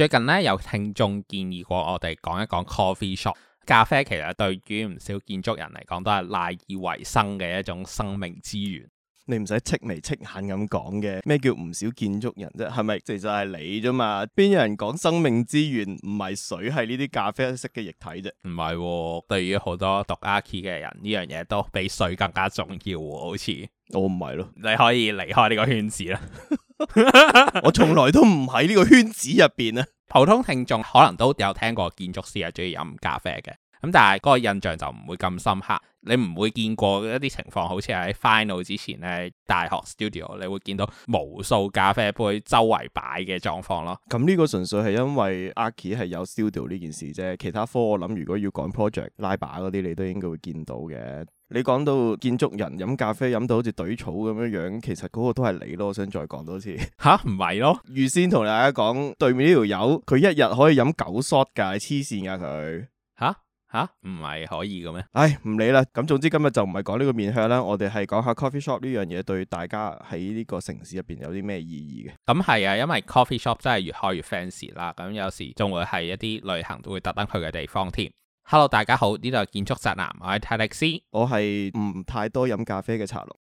最近咧有聽眾建議過我哋講一講 coffee shop。咖啡其實對於唔少建築人嚟講都係賴以為生嘅一種生命資源。 你唔使戚眉戚眼咁講嘅，咩叫唔少建築人啫？係咪其實係你啫嘛？邊有人講生命資源唔係水，係呢啲咖啡色嘅液體啫？ 唔係喎，對於好多讀 Archi 嘅人，呢樣嘢都比水更加重要喎，好似。 我唔係咯， 你可以離開呢個圈子啦。 我從來都唔喺呢個圈子入邊啊。 普通聽眾可能都有聽過建築師係中意飲咖啡嘅，咁但係嗰個印象就唔會咁深刻。你唔會見過一啲情況，好似喺 final 之前咧，大學 studio 你會見到無數咖啡杯周圍擺嘅狀況咯。 咁呢個純粹係因為 Archi 係有 studio 呢件事啫，其他科我諗如果要趕 project 拉把嗰啲，你都應該會見到嘅。你講到建築人飲咖啡飲到好似懟草咁樣樣，其實嗰個都係你咯。我想再講多次吓，唔係咯？ 預先同大家講，對面呢條友佢一日可以飲9 shot 㗎，黐線㗎佢吓，唔係可以嘅咩？ 唉，唔理啦。咁總之今日就唔係講呢個面向啦，我哋係講下 coffee shop 呢樣嘢對大家喺呢個城市入邊有啲咩意義嘅。 咁係啊，因為 coffee shop 真係越開越 fancy 啦。咁有時仲會係一啲旅行都會特登去嘅地方添。Hello， 大家好，呢度係建築宅男，我係泰迪斯， 我係唔太多飲咖啡嘅茶龍。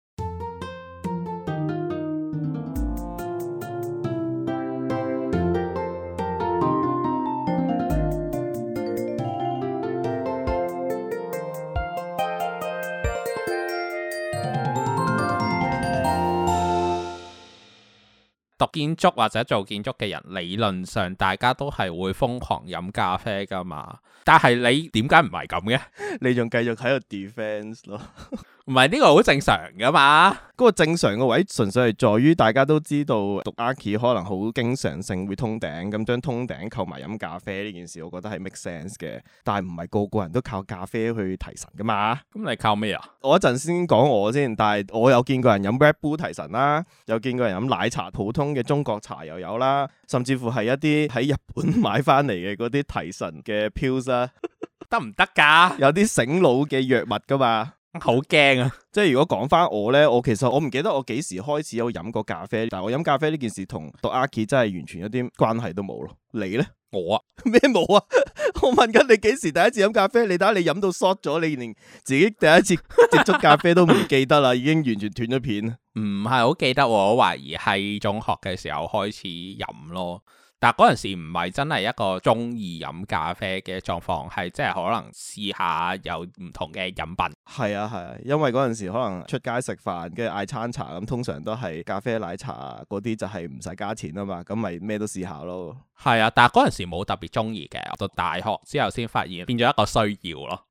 讀建築或者做建築嘅人，理論上大家都係會瘋狂飲咖啡噶嘛。但係你點解唔係咁嘅？ 你仲繼續喺度 defense 咯？ 唔係呢個好正常噶嘛？ 嗰個正常嘅位純粹係在於大家都知道讀 Archi 可能好經常性會通頂，咁將通頂扣埋飲咖啡呢件事，我覺得係 make sense 嘅。但係唔係個個人都靠咖啡去提神噶嘛？ 咁你靠咩啊？ 我一陣先講我先，但係我有見過人飲 Red Bull 提神啦，有見過人飲奶茶，普通嘅中國茶又有啦，甚至乎係一啲喺日本買翻嚟嘅嗰啲提神嘅 pills 啊， 得唔得噶？ 有啲醒腦嘅藥物噶嘛。 好驚啊！ 即係如果講翻我呢，我其實我唔記得我幾時開始有飲過咖啡，但係我飲咖啡呢件事同讀 Archi 真係完全一啲關係都冇咯。你呢？ 我啊咩冇啊？我問緊你幾時第一次飲咖啡？你睇下你飲到 short 咗，你連自己第一次接觸咖啡都唔記得啦，已經完全斷咗片。 唔係好記得，我懷疑係中學嘅時候開始飲咯。但嗰陣時唔係真係一個中意飲咖啡嘅狀況，係即係可能試下有唔同嘅飲品。 係啊，因為嗰陣時可能出街食飯，跟住嗌餐茶咁，通常都係咖啡奶茶嗰啲就係唔使加錢啊嘛，咁咪咩都試下咯。 係啊，但係嗰陣時冇特別中意嘅，到大學之後先發現變咗一個需要咯。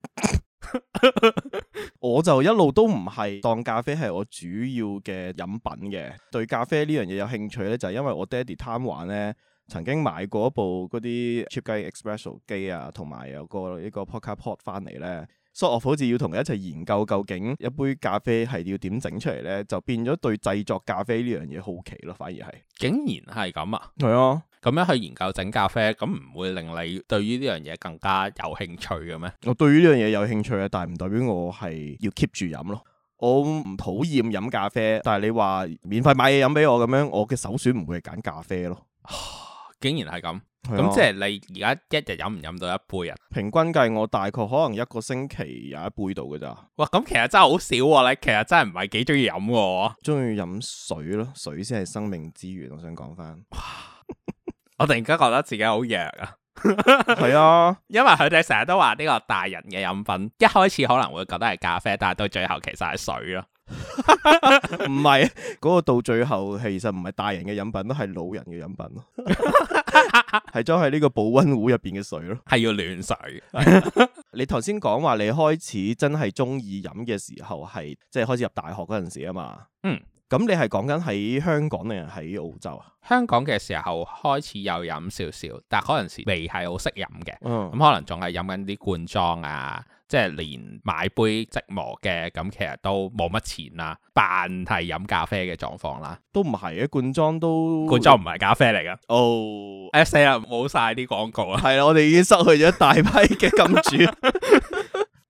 我就一路都唔係當咖啡係我主要嘅飲品嘅，對咖啡呢樣嘢有興趣咧，就係因為我爹哋貪玩咧。曾經買過一部嗰啲 cheap 雞 espresso 機啊，同埋有個呢個 Poca Pot 翻嚟咧，所以我好似要同佢一齊研究究竟一杯咖啡係要點整出嚟咧，就變咗對製作咖啡呢樣嘢好奇咯，反而係。竟然係咁啊？ 係啊， 咁樣去研究整咖啡，咁唔會令你對於呢樣嘢更加有興趣嘅咩？ 我對於呢樣嘢有興趣啊，但係唔代表我係要 keep 住飲咯。我唔討厭飲咖啡，但係你話免費買嘢飲俾我咁樣，我嘅首選唔會係揀咖啡咯。 竟然係咁，咁即係你而家一日飲唔飲到一杯啊？ 平均計我大概可能一個星期有一杯度嘅咋。 哇，咁其實真係好少喎，你其實真係唔係幾中意飲嘅。 中意飲水咯，水先係生命之源。我想講翻， 我突然間覺得自己好弱啊。 係啊， 因為佢哋成日都話呢個大人嘅飲品，一開始可能會覺得係咖啡，但係到最後其實係水咯。 唔係，嗰個到最後其實唔係大人嘅飲品，都係老人嘅飲品咯。係裝喺呢個保溫壺入邊嘅水咯，係要暖水。你頭先講話你開始真係中意飲嘅時候，係即係開始入大學嗰陣時啊嘛。咁你係講緊喺香港定係喺澳洲啊？香港嘅時候開始有飲少少，但係嗰陣時未係好識飲嘅。咁可能仲係飲緊啲罐裝啊，即係連買杯即磨嘅，咁其實都冇乜錢啦，扮係飲咖啡嘅狀況啦。都唔係嘅，罐裝唔係咖啡嚟噶。哦，死啦，冇晒啲廣告啦。係啦，我哋已經失去咗一大批嘅金主。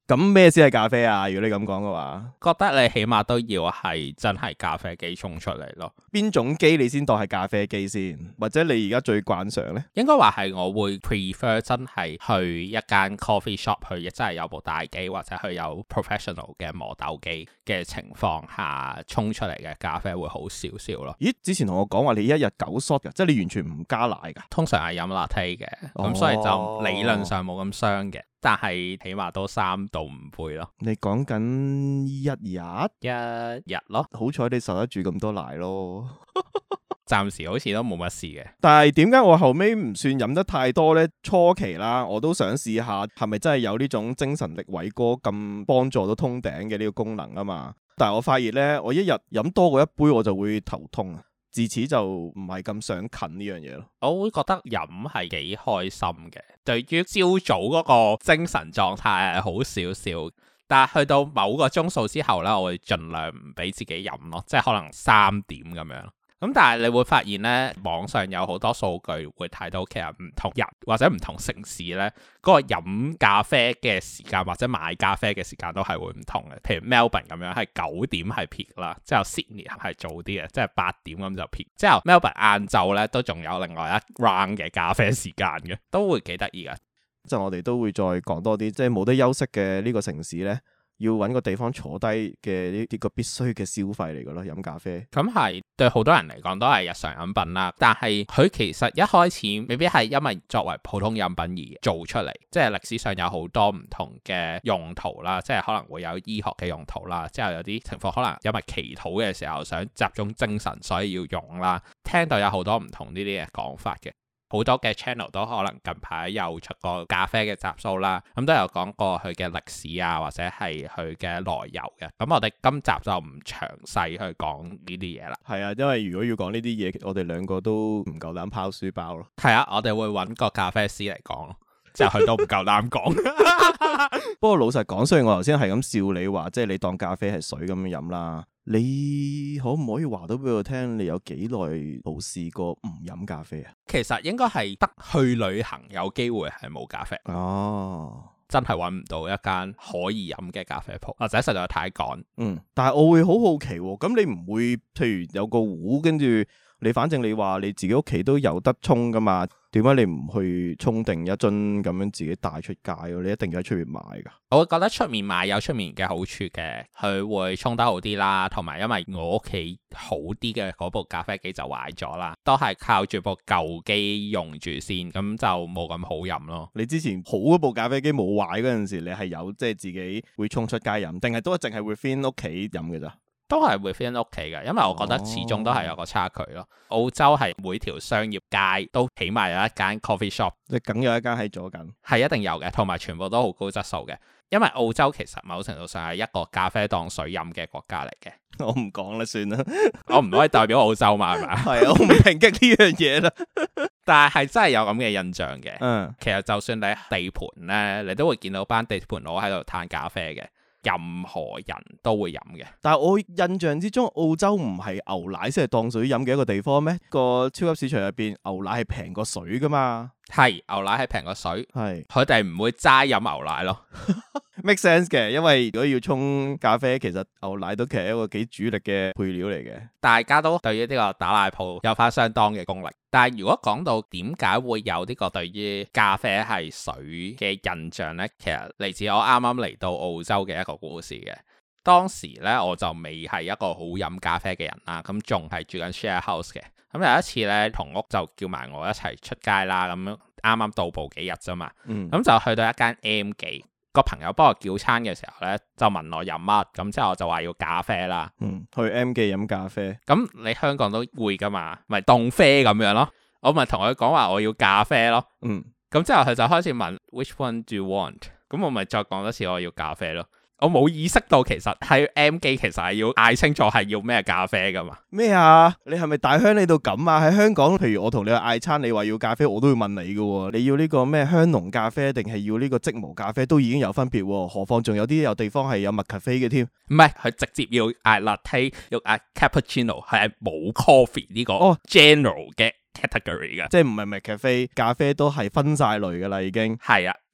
咁咩先係咖啡啊？如果你咁講嘅話， 覺得你起碼都要係真係咖啡機沖出嚟咯。 邊種機你先當係咖啡機先？或者你而家最慣常呢？ 應該話係我會 prefer 真係去一間 coffee shop 去，亦真係有部大機或者去有 professional 嘅磨豆機嘅情況下沖出嚟嘅咖啡會好少少咯。 咦？之前同我講話你一日9 shot 㗎，即係你完全唔加奶㗎？ 通常係飲 latte 嘅，咁所以就理論上冇咁傷嘅。但係起碼都3到5杯咯。你講緊一日咯， 好彩你受得住咁多奶咯。 暫時好似都冇乜事嘅。 但係點解我後尾唔算飲得太多呢？初期啦，我都想試下係咪真係有呢種精神力偉哥咁幫助到通頂嘅呢個功能啊嘛。但係我發現呢，我一日飲多過一杯我就會頭痛啊。自此就唔係咁想近呢樣嘢咯。 我會覺得飲係幾開心嘅，對於朝早嗰個精神狀態係好少少，但係去到某個鐘數之後呢，我會盡量唔俾自己飲咯，即係可能3點咁樣。咁但係你會發現呢，網上有好多數據會睇到，其實唔同人或者唔同城市呢，嗰個飲咖啡嘅時間或者買咖啡嘅時間都係會唔同嘅。譬如 Melbourne 咁樣係9點係 peak 啦，之後 Sydney 係早啲嘅，即係8點咁就 peak。之後 Melbourne 晏晝呢都仲有另外一 round 嘅咖啡時間嘅，都會幾得意㗎。 即係我哋都會再講多啲，即係冇得休息嘅呢個城市呢，要揾個地方坐低嘅呢啲個必須嘅消費嚟㗎咯，飲咖啡。 咁係對好多人嚟講都係日常飲品啦，但係佢其實一開始未必係因為作為普通飲品而做出嚟，即係歷史上有好多唔同嘅用途啦，即係可能會有醫學嘅用途啦，之後有啲情況可能因為祈禱嘅時候想集中精神，所以要用啦。聽到有好多唔同呢啲嘅講法嘅。好多嘅 channel 都可能近排有出過咖啡嘅集數啦，咁都有講過佢嘅歷史啊，或者係佢嘅來由嘅。咁我哋今集就唔詳細去講呢啲嘢啦。係啊，因為如果要講呢啲嘢，我哋兩個都唔夠膽拋書包咯。係啊，我哋會揾個咖啡師嚟講咯，之後佢都唔夠膽講。不過老實講，雖然我頭先係咁笑你話，即係你當咖啡係水咁樣飲啦。你可唔可以話到俾我聽，你有幾耐冇試過唔飲咖啡啊？其實應該係得去旅行有機會係冇咖啡。哦，真係揾唔到一間可以飲嘅咖啡鋪，或者實在太趕。但係我會好好奇喎，咁你唔會譬如有個壺，跟住你反正你話你自己屋企都有得沖噶嘛？點解你唔去沖定一樽咁樣自己帶出街？你一定要喺出面買噶？我會覺得出面買有出面嘅好處嘅，佢會沖得好啲啦，同埋因為我屋企好啲嘅嗰部咖啡機就壞咗啦，都係靠住部舊機用住先，咁就冇咁好飲咯。你之前好嗰部咖啡機冇壞嗰陣時，你係有即係自己會沖出街飲，定係都淨係會返屋企飲嘅咋？都係會返屋企嘅，因為我覺得始終都係有個差距咯。澳洲係每條商業街都起碼有一間 coffee shop，即係梗有一間喺左近，係一定有嘅，同埋全部都好高質素嘅。因為澳洲其實某程度上係一個咖啡當水飲嘅國家嚟嘅。我唔講啦，算啦，我唔可以代表澳洲嘛，係咪？係啊，我唔抨擊呢樣嘢啦。但係真係有咁嘅印象嘅。其實就算你喺地盤咧，你都會見到班地盤佬喺度嘆咖啡嘅。任何人都會飲嘅，但係我印象之中，澳洲唔係牛奶先係當水飲嘅一個地方咩？個超級市場入邊牛奶係平過水噶嘛？係，牛奶係平過水，係佢哋唔會齋飲牛奶咯。Make sense 嘅，因為如果要沖咖啡，其實牛奶都其實一個幾主力嘅配料嚟嘅。大家都對於呢個打奶鋪有翻相當嘅功力。但係如果講到點解會有呢個對於咖啡係水嘅印象呢？其實嚟自我啱啱嚟到澳洲嘅一個故事嘅。當時呢，我就未係一個好飲咖啡嘅人啦，咁仲係住緊 share house 嘅。咁有一次呢，同屋就叫埋我一齊出街啦，咁啱啱到埗幾日啫嘛，咁就去到一間 M 記。個朋友幫我叫餐嘅時候呢，就問我飲乜，咁之後我就話要咖啡啦。去 M 記飲咖啡，咁你香港都會噶嘛，咪凍啡咁樣咯。我咪同佢講話我要咖啡咯。咁之後佢就開始問 Which one do you want？ 咁我咪再講多次我要咖啡咯。我冇意識到其實喺 M 記其實係要嗌清楚係要咩咖啡噶嘛？咩啊？你係咪大鄉里到咁啊？喺香港，譬如我同你去嗌餐，你話要咖啡，我都會問你噶。你要呢個咩香濃咖啡，定係要呢個即磨咖啡，都已經有分別。何況仲有啲地方係有麥咖啡嘅添。唔係，佢直接要嗌 latte， 要嗌 cappuccino， 係冇 coffee 呢個 general 嘅 category 噶，即係唔係麥咖啡，咖啡都係分晒類噶啦，已經係啊。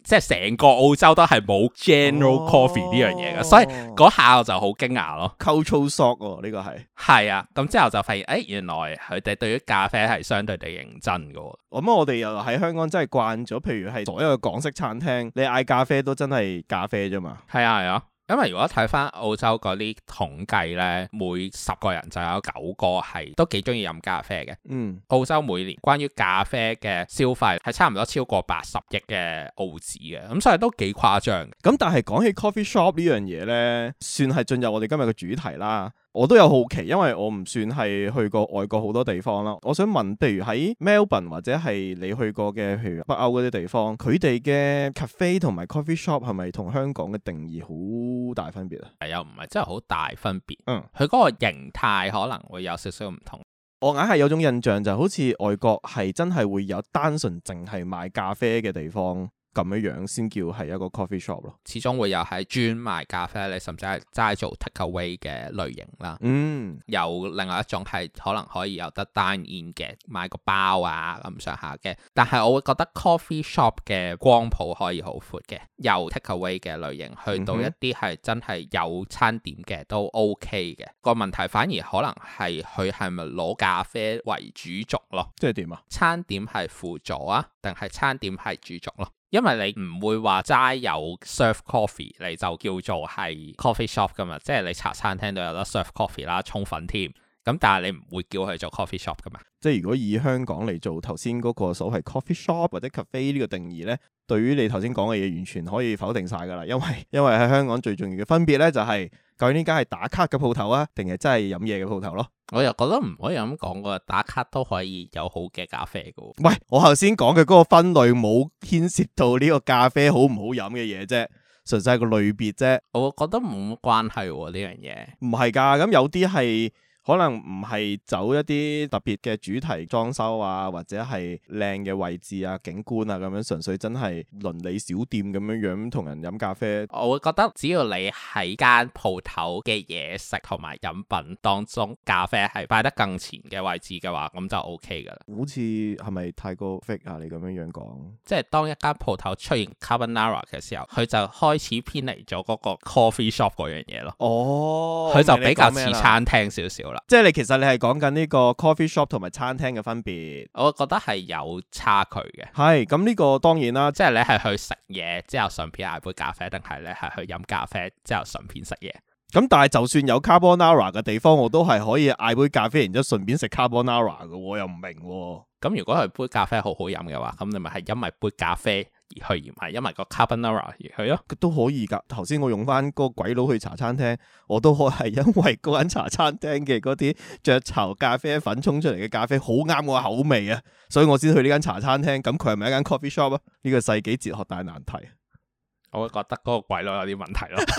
即係成個澳洲都係冇 General Coffee 呢樣嘢嘅，所以嗰下我就好驚訝咯。 Cultural shock 喎，呢個係啊，咁之後就發現原來佢哋對於咖啡係相對地認真嘅。 咁我哋又喺香港真係慣咗，譬如係所有嘅港式餐廳，你嗌咖啡都真係咖啡啫嘛。 係啊。因為如果睇翻澳洲嗰啲統計呢，每10個人就有9個係都幾中意飲咖啡嘅。澳洲每年關於咖啡嘅消費係差唔多超過80億嘅澳紙嘅，咁所以都幾誇張。 咁但係講起 coffee shop 呢樣嘢呢，算係進入我哋今日嘅主題啦。我都有好奇，因為我唔算係去過外國好多地方啦。我想問，譬如喺 Melbourne 或者係你去過嘅，譬如北歐嗰啲地方，佢哋嘅 cafe 同埋 coffee shop 係咪同香港嘅定義好大分別啊？ 係又唔係真係好大分別。佢嗰個形態可能會有少少唔同。 我硬係有種印象就好似外國係真係會有單純淨係賣咖啡嘅地方。咁樣先叫係一個 coffee shop 咯， 始終會有係專賣咖啡，你甚至係齋做 take away 嘅類型啦。有另外一種係可能可以有得 dine in 嘅，買個包啊咁上下嘅。但係我會覺得 coffee shop 嘅光譜可以好闊嘅，由 take away 嘅類型去到一啲係真係有餐點嘅都 OK 嘅。個問題反而可能係佢係咪攞咖啡為主軸咯？即係點啊？餐點係輔助啊，定係餐點係主軸咯？因為你唔會話齋有 serve coffee 你就叫做係 coffee shop 噶嘛，即係你茶餐廳都有得 serve coffee 啦，沖粉添。咁但係你唔會叫佢做 coffee shop 噶嘛？ 即係如果以香港嚟做頭先嗰個所謂 coffee shop 或者 cafe 呢個定義呢，對於你頭先講嘅嘢完全可以否定晒噶啦。因為喺香港最重要嘅分別呢，就係究竟呢間係打卡嘅鋪頭啊，定係真係飲嘢嘅鋪頭咯？ 我又覺得唔可以咁講噶，打卡都可以有好嘅咖啡噶。 喂，我頭先講嘅嗰個分類冇牽涉到呢個咖啡好唔好飲嘅嘢啫，純粹係個類別啫。 我覺得冇乜關係呢樣嘢。 唔係噶，咁有啲係。可能唔係走一啲特別嘅主題裝修啊，或者係靚嘅位置啊、景觀啊咁樣，純粹真係鄰里小店咁樣同人飲咖啡。 我會覺得只要你喺間鋪頭嘅嘢食同埋飲品當中，咖啡係擺得更前嘅位置嘅話，咁就 OK 噶啦。 好似係咪太過 fake 啊？你咁樣講， 即係當一間鋪頭出現 carbonara 嘅時候，佢就開始偏離咗嗰個 coffee shop 嗰樣嘢咯。 哦， 佢就比較似餐廳少少。 即係其實你係講緊呢個 coffee shop 同埋餐廳嘅分別， 我覺得係有差距嘅。 係咁呢個當然啦， 即係你係去食嘢之後順便嗌杯咖啡，定係你係去飲咖啡之後順便食嘢？ 咁但係就算有 carbonara 嘅地方，我都係可以嗌杯咖啡，然之後順便食 carbonara 嘅，我又唔明喎。 咁如果係杯咖啡好好飲嘅話，咁你咪係因為杯咖啡而去，而唔係因為個 carbonara 而去咯， 都可以噶。頭先我用翻嗰個鬼佬去茶餐廳，我都可係因為嗰間茶餐廳嘅嗰啲雀巢咖啡粉沖出嚟嘅咖啡好啱我口味啊，所以我先去呢間茶餐廳。咁佢係咪一間 coffee shop 啊？呢個世紀哲學大難題。 我會覺得嗰個鬼佬有啲問題咯。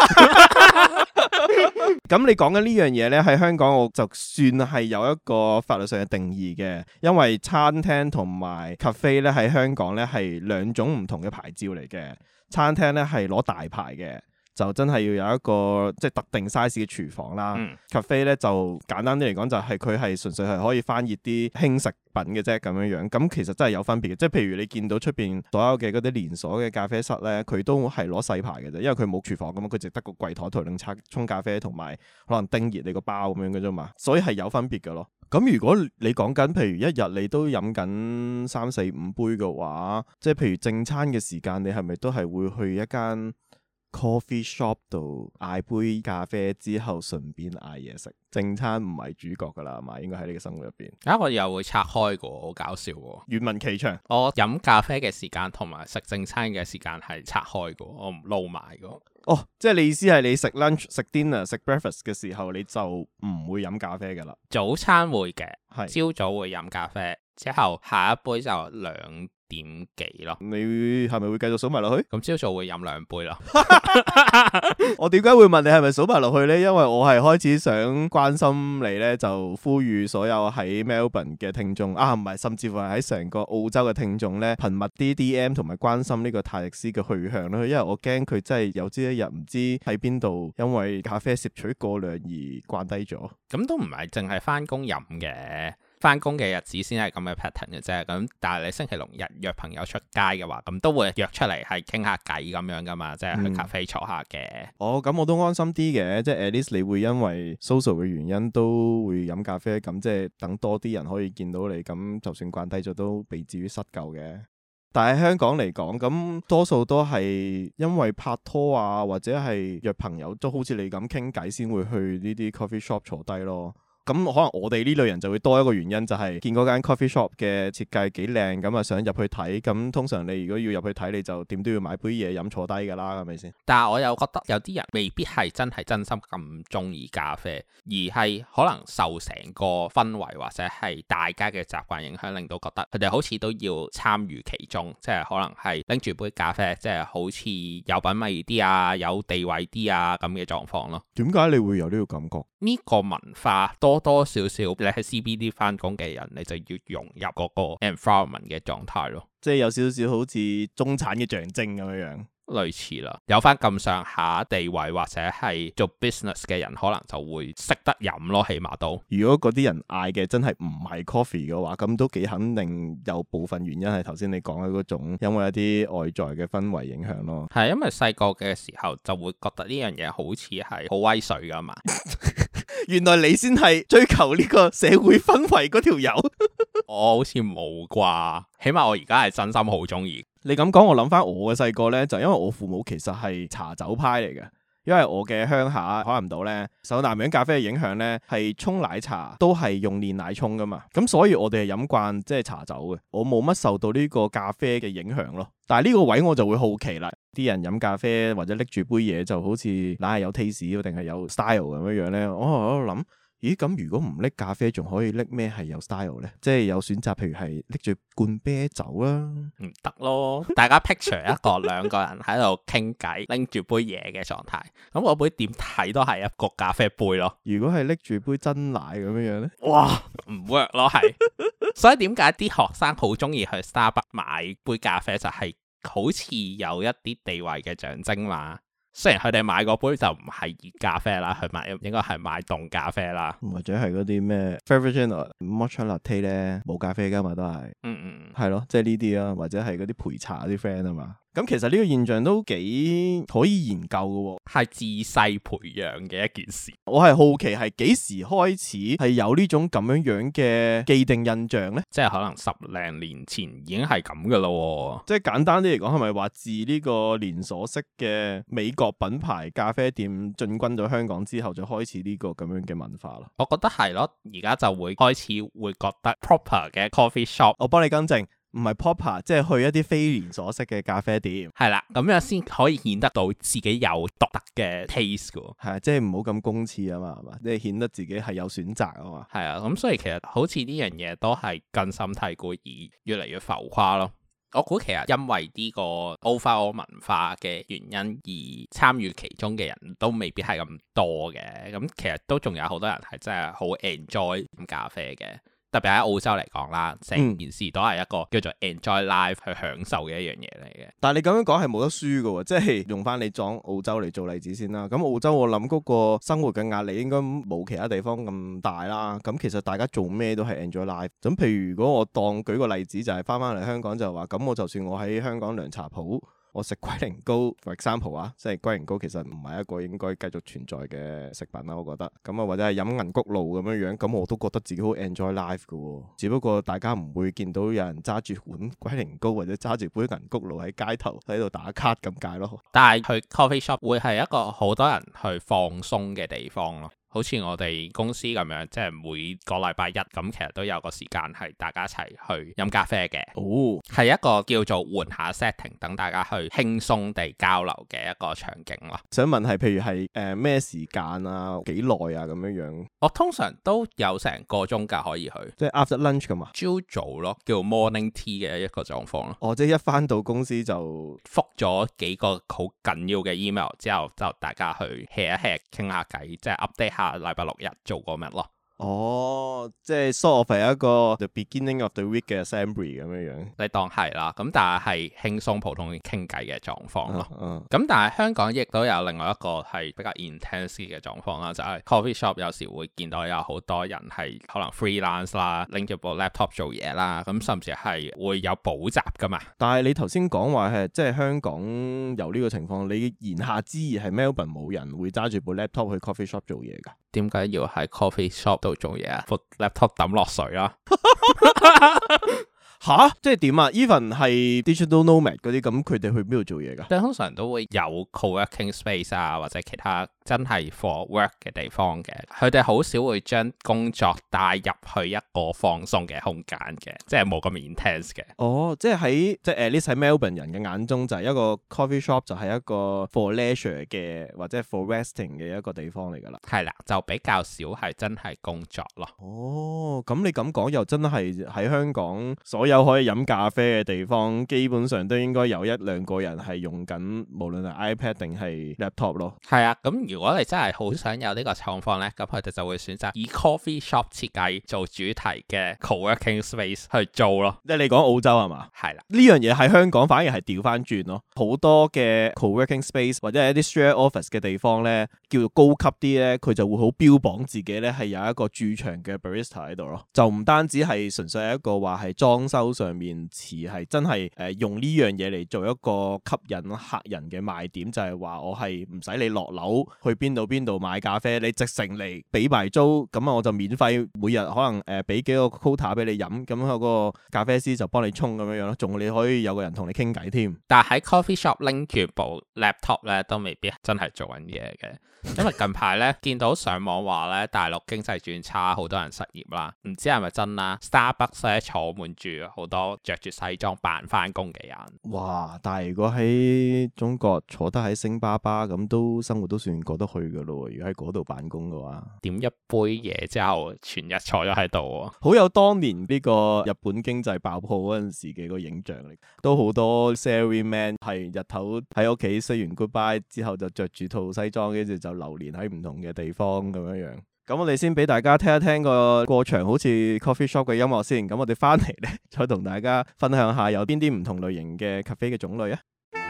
咁你講緊呢樣嘢呢，喺香港我就算係有一個法律上嘅定義嘅，因為餐廳同埋 cafe 咧喺香港呢係兩種唔同嘅牌照嚟嘅。餐廳呢係攞大牌嘅，就真係要有一個即係特定 size 嘅廚房啦。cafe 呢就簡單啲嚟講，就係佢係純粹係可以翻熱啲輕食品嘅啫，咁樣樣。咁其實真係有分別嘅，即係譬如你見到出邊所有嘅嗰啲連鎖嘅咖啡室呢，佢都係攞細牌嘅啫，因為佢冇廚房咁嘛，佢淨得個櫃台同你沖咖啡同埋可能叮熱你個包咁樣嘅啫嘛，所以係有分別嘅咯。咁如果你講緊譬如一日你都飲緊3、4、5杯嘅話，即係譬如正餐嘅時間，你係咪都係會去一間 coffee shop 度嗌杯咖啡之後順便嗌嘢食？正餐唔係主角噶啦，係嘛？應該喺你嘅生活入邊。 我又會拆開個，好搞笑喎。 願聞其詳。我飲咖啡嘅時間同埋食正餐嘅時間係拆開個，我唔撈埋個。 哦，即係你意思係你食 lunch、食 dinner、食 breakfast 嘅時候，你就唔會飲咖啡噶啦？ 早餐會嘅， 係朝早會飲咖啡，之後下一杯就2點幾咯。 你係咪會繼續數埋落去？ 咁朝早會飲2杯咯。 我點解會問你係咪數埋落去呢？因為我係開始想關心你呢，就呼籲所有喺 Melbourne 嘅聽眾啊，唔係，甚至乎係喺成個澳洲嘅聽眾呢，頻密啲 DM 同埋關心呢個泰迪斯嘅去向咯。因為我驚佢真係有朝一日唔知喺邊度，因為咖啡攝取過量而慣低咗。 咁都唔係淨係翻工飲嘅。 翻工嘅日子先係咁嘅 pattern 嘅啫。咁但係你星期六日約朋友出街嘅話，咁都會約出嚟係傾下偈咁樣噶嘛，即係去咖啡坐下嘅。 哦，咁我都安心啲嘅，即係 at least 你會因為 social 嘅原因都會飲咖啡，咁即係等多啲人可以見到你，咁就算慣低咗都未至於失舊嘅。但係香港嚟講，咁多數都係因為拍拖啊，或者係約朋友，都好似你咁傾偈先會去呢啲 coffee shop 坐低咯。咁可能我哋呢類人就會多一個原因，就係見嗰間 coffee shop 嘅設計幾靚，咁啊想入去睇。咁通常你如果要入去睇，你就點都要買杯嘢飲坐低㗎啦，係咪先？ 但係我又覺得有啲人未必係真係真心咁中意咖啡，而係可能受成個氛圍或者係大家嘅習慣影響，令到覺得佢哋好似都要參與其中，即係可能係拎住杯咖啡，即係好似有品味啲啊，有地位啲啊咁嘅狀況咯。 點解你會有呢個感覺？呢個文化多多少少，你喺 CBD 翻工嘅人，你就要融入嗰個 environment 嘅狀態咯。即係有少少好似中產嘅象徵咁樣樣。 類似啦，有翻咁上下地位或者係做 business 嘅人，可能就會識得飲咯，起碼都。如果嗰啲人嗌嘅真係唔係 coffee 嘅話，咁都幾肯定有部分原因係頭先你講嘅嗰種，因為一啲外在嘅氛圍影響咯。係因為細個嘅時候就會覺得呢樣嘢好似係好威水噶嘛。 原來你先係追求呢個社會氛圍嗰條友。 我好似冇啩，起碼我而家係真心好中意。 你咁講，我諗翻我嘅細個呢，就因為我父母其實係茶酒派嚟嘅，因為我嘅鄉下海南島呢，受南洋咖啡嘅影響呢，係沖奶茶都係用煉奶沖噶嘛，咁所以我哋係飲慣即係茶酒嘅，我冇乜受到呢個咖啡嘅影響咯。但係呢個位我就會好奇啦，啲人飲咖啡或者拎住杯嘢就好似硬係有 taste 定係有 style 咁樣樣呢。我喺度諗。咦，咁如果唔拎咖啡，仲可以拎咩係有 style 呢？即係有選擇，譬如係拎住罐啤酒啦， 唔得咯。大家 picture 一個兩個人喺度傾偈，拎住杯嘢嘅狀態，咁我杯點睇都係一個咖啡杯咯。 如果係拎住杯真奶咁樣樣呢？ 哇，唔 work 咯，係。所以點解啲學生好中意去 Starbucks 買杯咖啡，就係好似有一啲地位嘅象徵嘛。雖然佢哋買嗰杯就唔係熱咖啡啦，佢買應該係買凍咖啡啦， 或者係嗰啲咩 Frappuccino、Matcha Latte 咧，冇咖啡噶嘛，都係，係咯，即係呢啲啊，或者係嗰啲陪茶啲 friend 啊嘛。咁其實呢個現象都幾可以研究嘅，係自細培養嘅一件事。我係好奇係幾時開始係有呢種咁樣樣嘅既定印象呢？ 即係可能10零年前已經係咁噶咯。 即係簡單啲嚟講，係咪話自呢個連鎖式嘅美國品牌咖啡店進軍咗香港之後，就開始呢個咁樣嘅文化咯？ 我覺得係咯，而家就會開始會覺得 proper 嘅 coffee shop， 我幫你更正。唔係 proper，即係去一啲非連鎖式嘅咖啡店， 係啦，咁樣先可以顯得到自己有獨特嘅 taste 噶， 係啊，即係唔好咁公廁啊嘛，係嘛，即係顯得自己係有選擇啊嘛， 係啊，咁所以其實好似呢樣嘢都係根深蒂固而越嚟越浮誇咯。我估其實因為呢個 overall 文化嘅原因而參與其中嘅人都未必係咁多嘅，咁其實都仲有好多人係真係好 enjoy 飲咖啡嘅。特別喺澳洲嚟講啦，成件事都係一個叫做 enjoy life 去享受嘅一樣嘢嚟嘅。 但係你咁樣講係冇得輸嘅喎，即係用翻你講澳洲嚟做例子先啦。咁澳洲我諗嗰個生活嘅壓力應該冇其他地方咁大啦。咁其實大家做咩都係 enjoy life。咁譬如如果我當舉個例子就係翻嚟香港就話，咁我就算我喺香港涼茶鋪，我食龜苓膏 for example 啊，即係龜苓膏其實唔係一個應該繼續存在嘅食品啦，我覺得。咁啊或者係飲銀穀露咁樣樣，咁我都覺得自己好 enjoy life 嘅。只不過大家唔會見到有人揸住碗龜苓膏或者揸住杯銀穀露喺街頭喺度打卡咁解咯。 但係去 coffee shop 會係一個好多人去放鬆嘅地方咯。好似我哋公司咁樣，即係每個禮拜一咁，其實都有個時間係大家一齊去飲咖啡嘅。哦，係一個叫做換下 setting，等大家去輕鬆地交流嘅一個場景咯。 想問係譬如係咩時間啊，幾耐啊咁樣樣？ 我通常都有成個鐘㗎可以去， 即係 after lunch 㗎嘛？ 朝早咯，叫 morning tea 嘅一個狀況咯。 哦，即係一返到公司就覆咗幾個好緊要嘅 email 之後，就大家去 hea 一 hea 傾下偈，即係 update 下禮拜六日做過乜咯。 哦，即係 sort of 係一個 the beginning of the week 嘅 assembly 咁樣樣， 你當係啦。咁但係輕鬆普通傾偈嘅狀況咯。咁但係香港亦都有另外一個係比較 intense 嘅狀況啦，就係 coffee shop 有時會見到有好多人係可能 freelance 啦，拎住部 laptop 做嘢啦，咁甚至係會有補習噶嘛。 但係你頭先講話係即係香港有呢個情況，你言下之意係 Melbourne 冇人會揸住部 laptop 去 coffee shop 做嘢㗎？ 點解要喺 coffee shop 度做嘢啊？部 laptop 抌落水啦！ 吓？即係點啊 ？Even 係 digital nomad 嗰啲咁，佢哋去邊度做嘢㗎？ 即係通常都會有 co-working space 啊，或者其他真係 for work 嘅地方嘅。佢哋好少會將工作帶入去一個放鬆嘅空間嘅，即係冇咁 intense 嘅。 哦，即係喺即係 at least 喺 Melbourne 人嘅眼中，就係一個 coffee shop 就係一個 for leisure 嘅或者 for resting 嘅一個地方嚟㗎啦。 係啦，就比較少係真係工作咯。 哦，咁你咁講又真係喺香港所有可以飲咖啡嘅地方，基本上都應該有一兩個人係用緊，無論係 iPad 定係 laptop 咯。 係啊，咁如果你真係好想有呢個狀況呢，咁佢哋就會選擇以 coffee shop 設計做主題嘅 co-working space 去做咯。 即係你講澳洲係嘛？ 係啦， 呢樣嘢喺香港反而係調翻轉咯。好多嘅 co-working space 或者係一啲 share office 嘅地方呢，叫做高級啲呢，佢就會好標榜自己呢係有一個駐場嘅 barista 喺度咯。就唔單止係純粹係一個話係裝修上面詞係真係用呢樣嘢嚟做一個吸引客人嘅賣點，就係話我係唔使你落樓去邊度買咖啡，你直程嚟俾埋租，咁啊我就免費每日可能俾幾個 quota 俾你飲，咁嗰個咖啡師就幫你沖咁樣樣咯，仲你可以有個人同你傾偈添。 但係喺 coffee shop 拎住部 laptop 咧，都未必真係做緊嘢嘅。因為近排咧見到上網話咧大陸經濟轉差，好多人失業啦，唔知係咪真啦。Starbucks 咧坐滿住好多着住西裝扮翻工嘅人。哇！ 但係如果喺中國坐得喺星巴巴咁，都生活都算過得去噶咯。如果喺嗰度辦公嘅話， 點一杯嘢之後全日坐咗喺度， 好有當年呢個日本經濟爆破嗰陣時嘅個影像嚟。都好多 salaryman 係日頭喺屋企 say 完 goodbye 之後就着住套西裝，跟住就流連喺唔同嘅地方咁樣樣。咁我哋先俾大家聽一聽個過場好似 coffee shop 嘅音樂先。咁我哋翻嚟咧，再同大家分享下有邊啲唔同類型嘅咖啡嘅種類啊。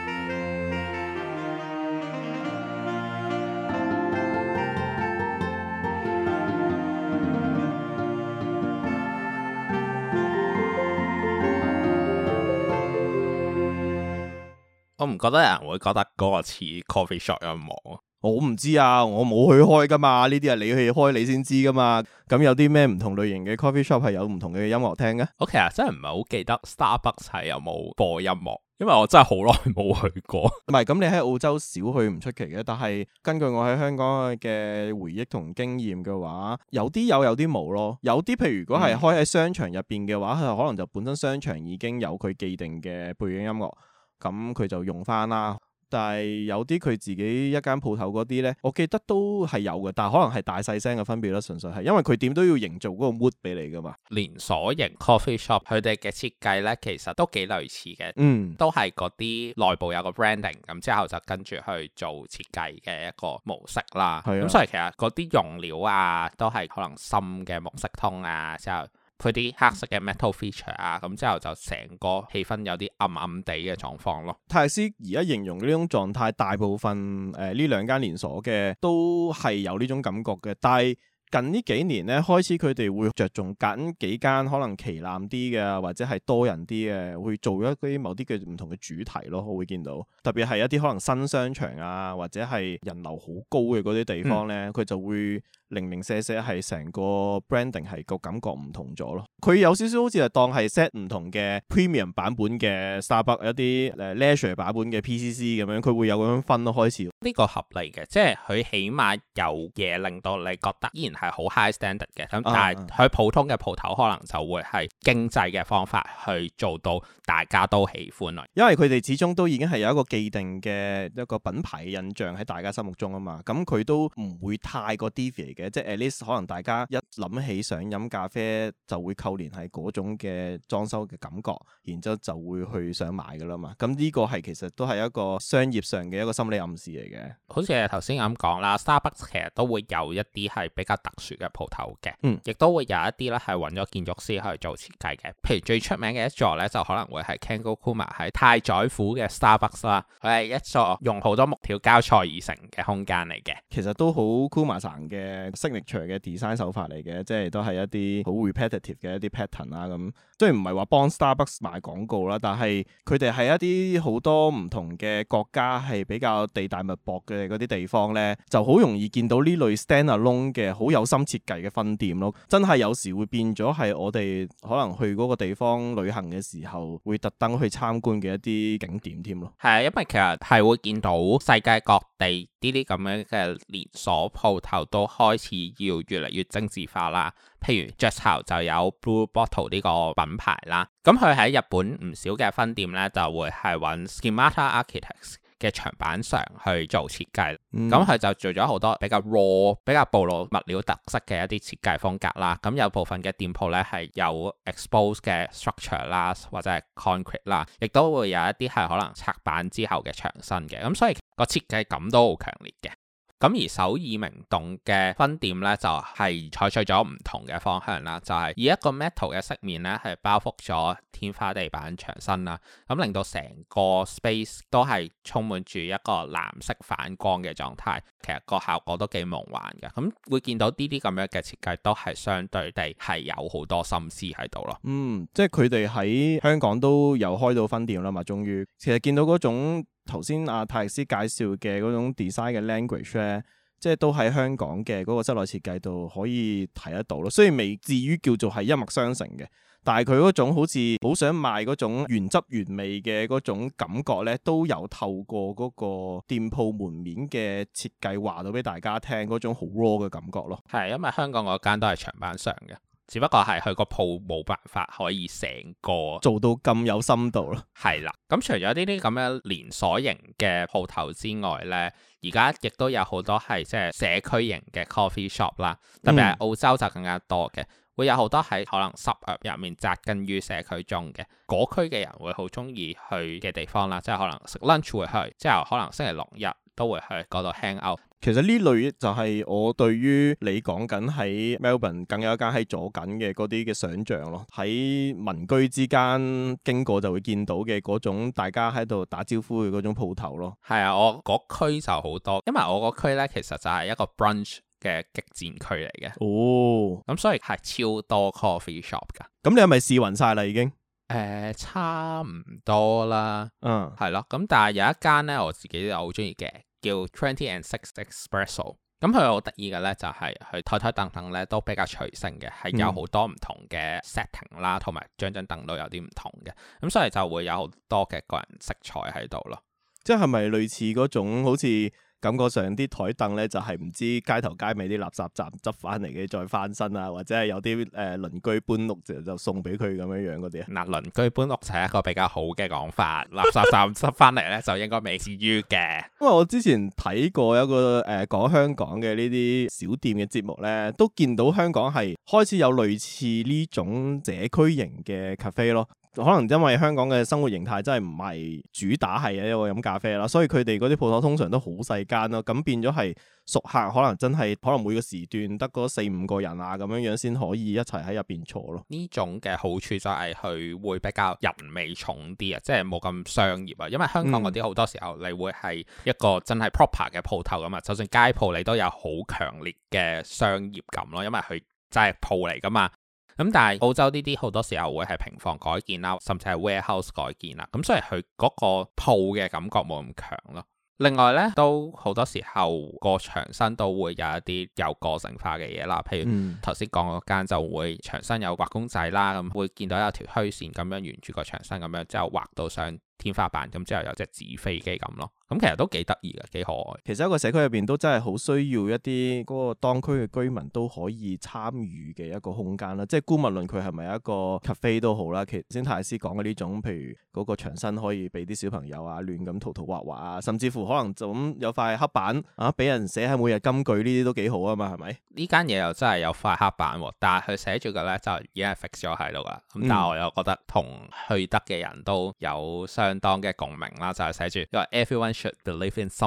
我唔覺得有人會覺得嗰個似 coffee shop 音樂。 我唔知啊，我冇去開噶嘛，呢啲係你去開你先知噶嘛。咁有啲咩唔同類型嘅 coffee shop 係有唔同嘅音樂聽嘅？ 我其實真係唔係好記得 Starbucks 係有冇播音樂，因為我真係好耐冇去過。 唔係，咁你喺澳洲少去唔出奇嘅，但係根據我喺香港嘅回憶同經驗嘅話，有啲有啲冇咯。有啲譬如如果係開喺商場入邊嘅話，佢可能就本身商場已經有佢既定嘅背景音樂，咁佢就用翻啦。但係有啲佢自己一間鋪頭嗰啲呢，我記得都係有嘅，但係可能係大細聲嘅分別啦，純粹係因為佢點都要營造嗰個 mood 俾你噶嘛。 連鎖型 coffee shop 佢哋嘅設計呢，其實都幾類似嘅，都係嗰啲內部有個 branding，咁之後就跟住去做設計嘅一個模式啦。咁所以其實嗰啲用料啊，都係可能深嘅木色通啊，之後佢啲黑色嘅 metal feature 啊，咁之後就成個氣氛有啲暗暗地嘅狀況咯。 泰斯而家形容呢種狀態，大部分呢兩間連鎖嘅都係有呢種感覺嘅，但係近呢幾年咧，開始佢哋會着重揀幾間可能旗艦啲嘅，或者係多人啲嘅，會做一啲某啲嘅唔同嘅主題咯。我會見到，特別係一啲可能新商場啊，或者係人流好高嘅嗰啲地方咧，佢就會零零舍舍係成個 branding 係個感覺唔同咗咯。佢有少少好似係當係 set 唔同嘅 premium 版本嘅 Starbucks， 一啲leisure 版本嘅 PCC 咁樣，佢會有咁樣分咯。開始呢個合理嘅，即係佢起碼有嘢令到你覺得依然係好 high standard 嘅。咁但係佢普通嘅鋪頭可能就會係經濟嘅方法去做到大家都喜歡咯。 因為佢哋始終都已經係有一個既定嘅一個品牌印象喺大家心目中啊嘛。咁佢都唔會太過 deviate 嘅，即係 at least 可能大家一諗起想飲咖啡就會扣連係嗰種嘅裝修嘅感覺，然之後就會去想買噶啦嘛。咁呢個係其實都係一個商業上嘅一個心理暗示嚟嘅。 好似頭先咁講啦，Starbucks 其實都會有一啲係比較特殊嘅鋪頭嘅，亦都會有一啲咧係揾咗建築師去做設計嘅。譬如最出名嘅一座咧，就可能會係 Kengo Kuma 喺太宰府嘅 Starbucks 啦，佢係一座用好多木條交錯而成嘅空間嚟嘅。 其實都好 Kuma-san 嘅 signature 嘅 design 手法嚟嘅，即係都係一啲好 repetitive 嘅一啲 pattern 啦。咁雖然唔係話幫 Starbucks 賣廣告啦，但係佢哋係一啲好多唔同嘅國家係比較地大物博嘅嗰啲地方咧，就好容易見到呢類 stand-alone 嘅好有心設計嘅分店咯。真係有時會變咗係我哋可能去嗰個地方旅行嘅時候，會特登去參觀嘅一啲景點添咯。 係啊，因為其實係會見到世界各地呢啲咁樣嘅連鎖鋪頭都開始要越嚟越精緻化啦。譬如 Just How 就有 Blue Bottle 呢個品牌啦，咁佢喺日本唔少嘅分店咧就會係揾 Schemata Architects 嘅長板牆去做設計，咁佢就做咗好多比較 raw、比較暴露物料特色嘅一啲設計風格啦。咁有部分嘅店鋪咧係有 expose 嘅 structure 啦，或者係 concrete 啦，亦都會有一啲係可能拆板之後嘅牆身嘅，咁所以個設計感都好強烈嘅。咁而首爾明洞嘅分店咧就係採取咗唔同嘅方向啦，就係以一個 metal 嘅飾面咧係包覆咗天花地板牆身啦，咁令到成個 space 都係充滿住一個藍色反光嘅狀態，其實個效果都幾夢幻嘅。咁會見到呢啲咁樣嘅設計都係相對地係有好多心思喺度咯。 即係佢哋喺香港都有開到分店啦嘛，終於其實見到嗰種頭先阿泰力斯介紹嘅嗰種 design 嘅 language 咧，即係都喺香港嘅嗰個室內設計度可以睇得到咯。雖然未至於叫做係一脈相承嘅，但係佢嗰種好似好想賣嗰種原汁原味嘅嗰種感覺咧，都有透過嗰個店鋪門面嘅設計話到俾大家聽嗰種好 raw 嘅感覺咯。 係因為香港嗰間都係長板牆嘅。只不過係佢個鋪冇辦法可以成個做到咁有深度咯。 係啦，咁除咗呢啲咁樣連鎖型嘅鋪頭之外呢，而家亦都有好多係即係社區型嘅 coffee shop 啦，特別係澳洲就更加多嘅，會有好多喺可能suburb入面紮根於社區中嘅嗰區嘅人會好中意去嘅地方啦，即係可能食 lunch 會去，之後可能星期六日都會去嗰度 hang out。 其實呢類就係我對於你講緊喺 Melbourne 更有一間喺左近嘅嗰啲嘅想像咯，喺民居之間經過就會見到嘅嗰種大家喺度打招呼嘅嗰種鋪頭咯。 係啊，我嗰區就好多，因為我嗰區呢其實就係一個 brunch 嘅激戰區嚟嘅。哦，咁所以係超多 coffee shop 噶。 咁你係咪試勻晒啦已經？ 差唔多啦。係咯。咁但係有一間呢，我自己又好中意嘅。叫 20 and 6 Espresso， 咁佢好得意嘅咧就係佢台凳凳咧都比較隨性嘅，係有好多唔同嘅 setting 啦，同埋張凳都有啲唔同嘅，咁所以就會有好多嘅個人色彩喺度咯。 即係咪類似嗰種好似感覺上啲台凳咧就係唔知街頭街尾啲垃圾站執翻嚟嘅再翻身啊，或者係有啲鄰居搬屋就送俾佢咁樣嗰啲啊？ 嗱，鄰居搬屋就係一個比較好嘅講法，垃圾站執翻嚟咧就應該未至於嘅。因為我之前睇過一個講香港嘅呢啲小店嘅節目咧，都見到香港係開始有類似呢種社區型嘅 cafe 咯。可能因為香港嘅生活形態真係唔係主打係一個飲咖啡啦，所以佢哋嗰啲鋪頭通常都好細間咯，咁變咗係熟客可能真係可能每個時段得嗰4-5個人啊咁樣先可以一齊喺入邊坐咯。 呢種嘅好處就係佢會比較人味重啲啊，即係冇咁商業啊。因為香港嗰啲好多時候你會係一個真係 proper 嘅鋪頭咁啊，就算街鋪你都有好強烈嘅商業感咯，因為佢真係鋪嚟噶嘛。咁但係澳洲呢啲好多時候會係平房改建啦，甚至係 warehouse 改建啦，咁所以佢嗰個鋪嘅感覺冇咁強咯。另外咧，都好多時候個牆身都會有一啲有個性化嘅嘢啦，譬如頭先講嗰間就會牆身有畫公仔啦，咁會見到有條虛線咁樣沿住個牆身咁樣之後畫到上天花板，咁之後有隻紙飛機咁咯。咁其實都幾得意嘅，幾可愛。其實一個社區入邊都真係好需要一啲嗰個當區嘅居民都可以參與嘅一個空間啦。即係姑勿論佢係咪一個 cafe 都好啦。其實先泰斯講嘅呢種，譬如嗰個牆身可以俾啲小朋友啊亂咁塗塗畫畫啊，甚至乎可能就咁有塊黑板啊，俾人寫喺每日金句呢啲都幾好啊嘛，係咪？ 呢間嘢又真係有塊黑板，但係佢寫住嘅咧就已經係 fix 咗喺度噶。咁但係我又覺得同去得嘅人都有相當嘅共鳴啦，就係寫住因為 everyone should believe in something，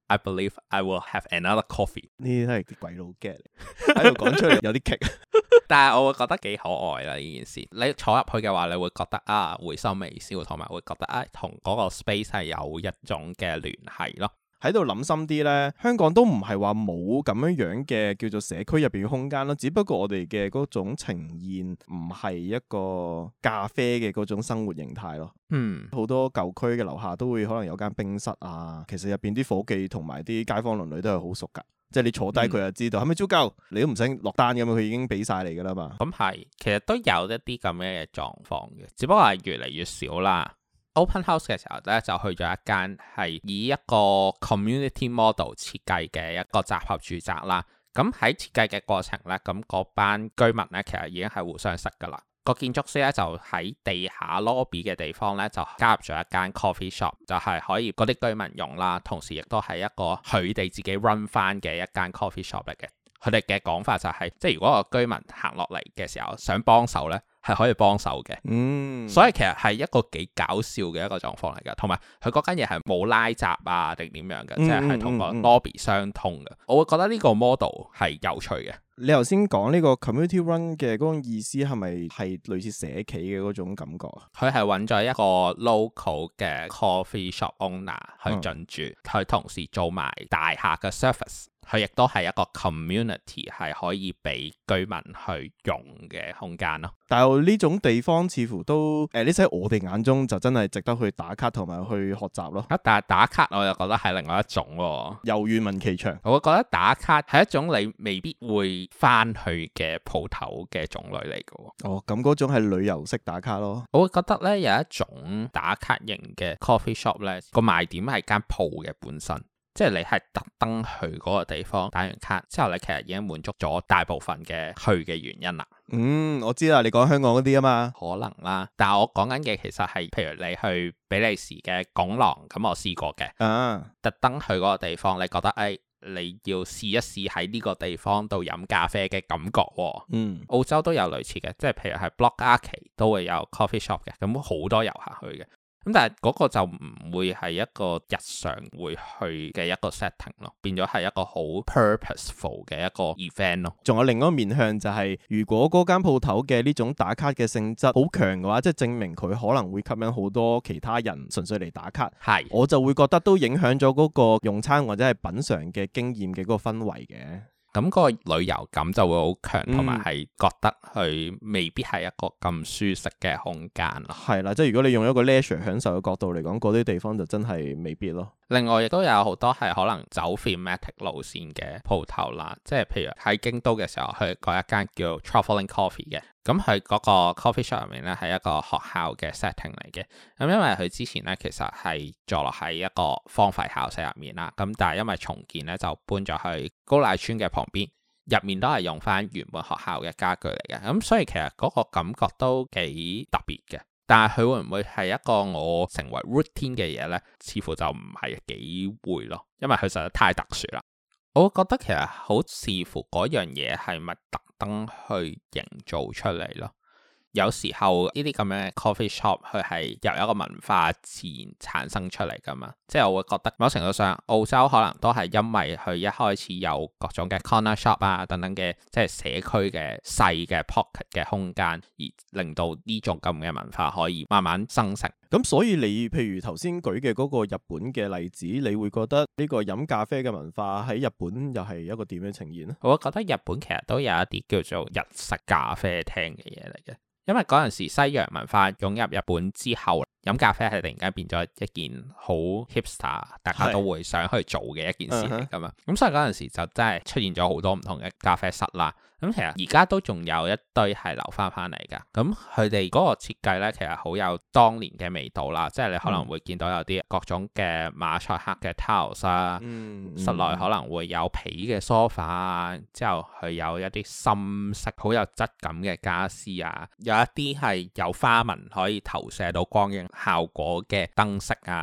I believe I will have another coffee。 呢啲都係啲鬼佬 get 嚟，喺度講出嚟有啲棘。 但係我會覺得幾可愛啦呢件事。你坐入去嘅話，你會覺得啊會心微笑，同埋會覺得啊同嗰個 space 係有一種嘅聯繫咯。 喺度諗深啲呢，香港都唔係話冇咁樣嘅叫做社區入邊嘅空間咯，只不過我哋嘅嗰種呈現唔係一個咖啡嘅嗰種生活形態咯。好多舊區嘅樓下都會可能有間冰室啊，其實入邊啲伙計同埋啲街坊鄰里都係好熟噶。即係你坐低佢就知道係咪足夠，你都唔使落單咁樣，佢已經俾晒你噶啦嘛。 咁係，其實都有一啲咁樣嘅狀況嘅，只不過係越嚟越少啦。Open House 嘅時候咧，就去咗一間係以一個 community model 設計嘅一個集合住宅啦。咁喺設計嘅過程咧，咁嗰班居民咧其實已經係互相識噶啦。個建築師咧就喺地下 lobby 嘅地方咧就加入咗一間 coffee shop， 就係可以嗰啲居民用啦，同時亦都係一個佢哋自己 run 翻嘅一間 coffee shop 嚟嘅。佢哋嘅講法就係，即係如果個居民行落嚟嘅時候想幫手咧，係可以幫手嘅。所以其實係一個幾搞笑嘅一個狀況嚟㗎。同埋佢嗰間嘢係冇拉閘啊定點樣嘅，即係同個 lobby 相通嘅。我會覺得呢個 model 係有趣嘅。 你頭先講呢個 community run 嘅嗰種意思係咪係類似社企嘅嗰種感覺啊？佢係揾咗一個 local 嘅 coffee shop owner 去進駐，佢同時做埋大廈嘅 service。佢亦都係一個 community 係可以俾居民去用嘅空間咯。 但係呢種地方似乎都呢喺我哋眼中就真係值得去打卡同埋去學習咯。 但係打卡我就覺得係另外一種喎。 遊願聞其詳。 我會覺得打卡係一種你未必會翻去嘅鋪頭嘅種類嚟嘅。 哦，咁嗰種係旅遊式打卡咯。 我會覺得咧有一種打卡型嘅 coffee shop 咧，個賣點係間鋪嘅本身。即係你係特登去嗰個地方打完卡之後，你其實已經滿足咗大部分嘅去嘅原因啦。 我知啦，你講香港嗰啲啊嘛， 可能啦。但係我講緊嘅其實係，譬如你去比利時嘅拱廊，咁我試過嘅。特登去嗰個地方，你覺得你要試一試喺呢個地方度飲咖啡嘅感覺喎。澳洲都有類似嘅，即係譬如係 Block Arcade 都會有 coffee shop 嘅，咁好多遊客去嘅。咁但係嗰個就唔會係一個日常會去嘅一個 setting 咯，變咗係一個好 purposeful 嘅一個 event 咯。 仲有另一個面向就係，如果嗰間鋪頭嘅呢種打卡嘅性質好強嘅話，即係證明佢可能會吸引好多其他人純粹嚟打卡。我就會覺得都影響咗嗰個用餐或者係品嚐嘅經驗嘅嗰個氛圍嘅。 咁個旅遊感就會好強，同埋係覺得佢未必係一個咁舒適嘅空間咯。 係啦，即係如果你用一個 leisure 享受嘅角度嚟講，嗰啲地方就真係未必咯。 另外亦都有好多係可能走 thematic 路線嘅鋪頭啦，即係譬如喺京都嘅時候去過一間叫 Travelling Coffee 嘅，咁佢嗰個 coffee shop 入面咧係一個學校嘅 setting 嚟嘅，咁因為佢之前咧其實係坐落喺一個荒廢校舍入面啦，咁但係因為重建咧就搬咗去高瀨村嘅旁邊，入面都係用翻原本學校嘅家具嚟嘅，咁所以其實嗰個感覺都幾特別嘅。但係佢會唔會係一個我成為 routine 嘅嘢呢？似乎就唔係幾會咯，因為佢實在太特殊啦。我覺得其實好視乎嗰樣嘢係咪特登去營造出嚟咯。有時候呢啲咁樣嘅 coffee shop 佢係由一個文化自然產生出嚟噶嘛，即係我會覺得某程度上澳洲可能都係因為佢一開始有各種嘅 corner shop 啊等等嘅即係社區嘅細嘅 pocket 嘅空間，而令到呢種咁嘅文化可以慢慢生成。 咁所以你譬如頭先舉嘅嗰個日本嘅例子，你會覺得呢個飲咖啡嘅文化喺日本又係一個點樣呈現呢？ 我覺得日本其實都有一啲叫做日式咖啡廳嘅嘢嚟嘅。因為嗰陣時西洋文化湧入日本之後，飲咖啡係突然間變咗一件好 hipster， 大家都會想去做嘅一件事嚟噶嘛。咁所以嗰陣時就真係出現咗好多唔同嘅咖啡室啦。咁其實而家都仲有一堆係留翻嚟噶。咁佢哋嗰個設計咧，其實好有當年嘅味道啦。即係你可能會見到有啲各種嘅馬賽克嘅 tiles 啊，室內可能會有皮嘅 sofa 啊，之後佢有一啲深色好有質感嘅家私啊，有一啲係有花紋可以投射到光影效果嘅燈飾啊。